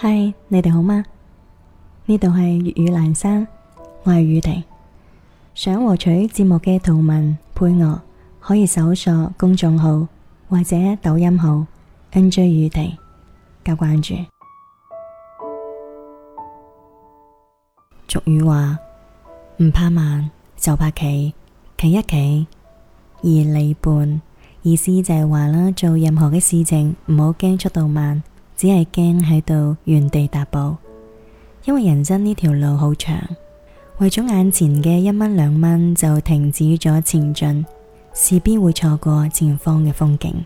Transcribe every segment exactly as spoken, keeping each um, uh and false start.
嗨，你哋好嗎？呢度係粵語闌珊，我係宇婷。想獲取節目嘅圖文配樂，可以搜索公眾號或者抖音號 N J 宇婷加關注。俗語話唔怕慢就怕企，企一企二里半，意思就係話啦，做任何嘅事情唔好驚速度慢，只係驚喺度原地踏步。因為人生呢條路好長，為咗眼前嘅一蚊兩蚊就停止咗前進，勢必會錯過前方嘅風景。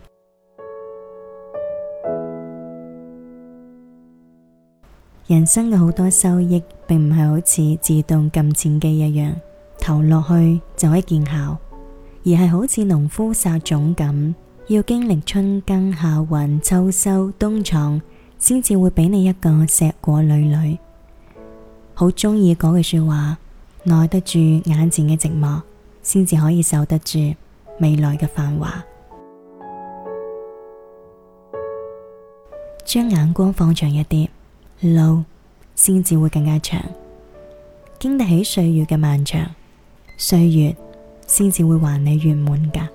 人生嘅好多收益並唔係好似自動撳錢機一樣投落去就可以見效，而係好似農夫撒種咁，要經歷春耕夏耘秋收冬藏，先至會俾你一個碩果累累。好鍾意嗰句說話，耐得住眼前嘅寂寞，先至可以守得住未來嘅繁華。將眼光放長一啲，路先至會更加長，經得起歲月嘅漫長，歲月先至會還你圓滿㗎。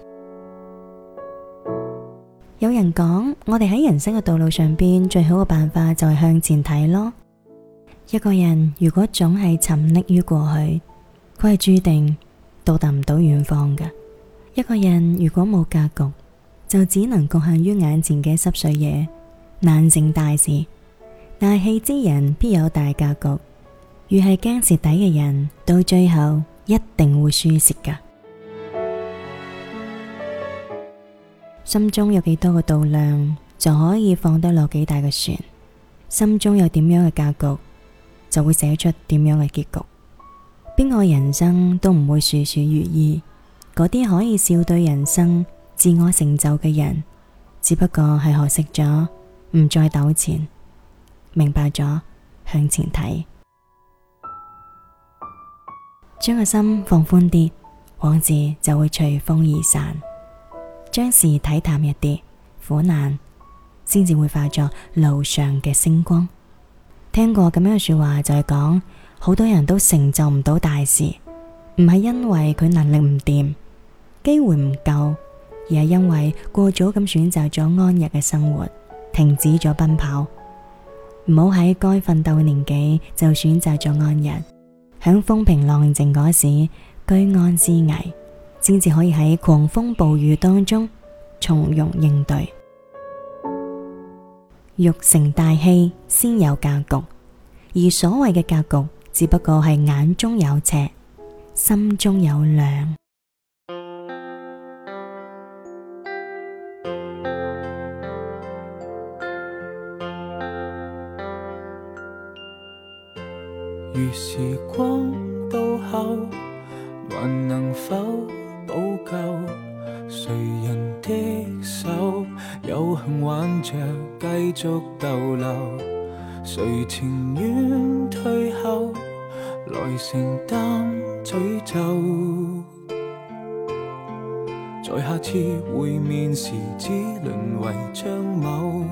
有人講，我哋喺人生嘅道路上邊，最好嘅辦法就係向前睇咯。一個人如果總係沉溺於過去，佢係注定到達唔到遠方㗎。一個人如果冇格局，就只能局限於眼前嘅濕碎嘢，難成大事。大器之人必有大格局，越係驚蝕底嘅人，到最後一定會輸蝕㗎。心中有幾多個度量，就可以放得落幾大嘅船。心中有點樣嘅格局，就會寫出點樣嘅結局。邊個人生都唔會事事如意，嗰啲可以笑對人生、自我成就嘅人，只不過係學識咗唔再糾纏，明白咗向前睇。將個心放寬啲，往事就會隨風而散。將事睇淡一啲，苦難先至會化作路上嘅星光。聽過咁樣嘅說話，就係講好多人都成就唔到大事，唔係因為佢能力唔掂、機會唔夠，而係因為過早咁選擇咗安逸嘅生活，停止咗奔跑。唔好喺該奮鬥嘅年紀就選擇咗安逸，響風平浪靜嗰時居安思危，先至可以喺狂風暴雨當中從容應對。欲成大器，先有格局，而所謂嘅格局，只不過係眼中有尺，心中有量。 如時光倒後，還能否補救？誰人的手有幸挽着繼續逗留？誰情願退後來承擔詛咒？在下次會面時只淪為張某，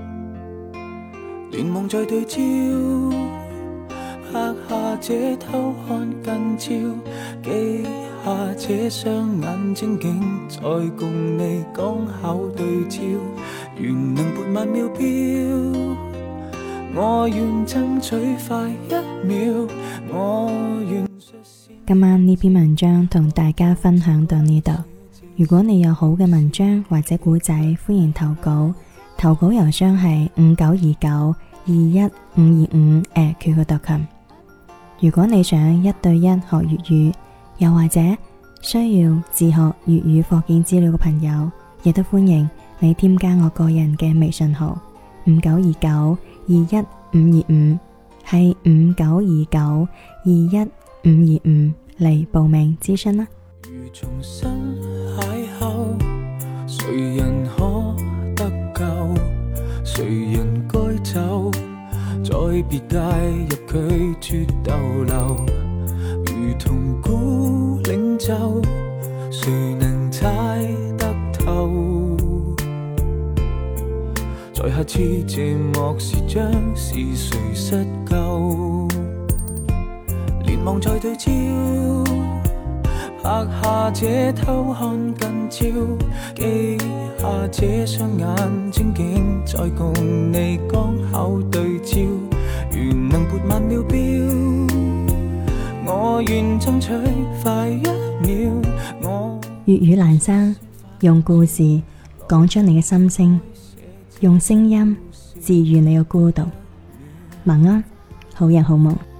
連望再對焦，拍下這偷看近照，記下這雙眼睛竟再共你剛巧對焦，願能撥慢秒標，我願爭取快一秒，我願。 今晚呢篇文章同大家分享到呢度。如果你有好嘅文章或者古仔，歡迎投稿。投稿郵箱係五九二九二一五二五 at Q Q 點 com。如果你想一對一學粵語，又或者需要自學粵語課件資料嘅朋友，亦都歡迎你添加我個人嘅微信號五九二九二一五二五，係五九二九二一五二五嚟報名諮詢啦。 如重新邂逅，誰人可得救？誰人該走？在別介入拒絕逗留，如同孤領袖，誰能猜得透？在在下次寂寞時將是誰失救？連望在對焦，拍下這偷看近照，記下這雙眼睛竟再共你剛巧對焦。如能撥慢了表，我願爭取快一秒。我粵語闌珊，用故事講出你嘅心聲，用聲音治愈你嘅孤獨。晚安，好人好夢。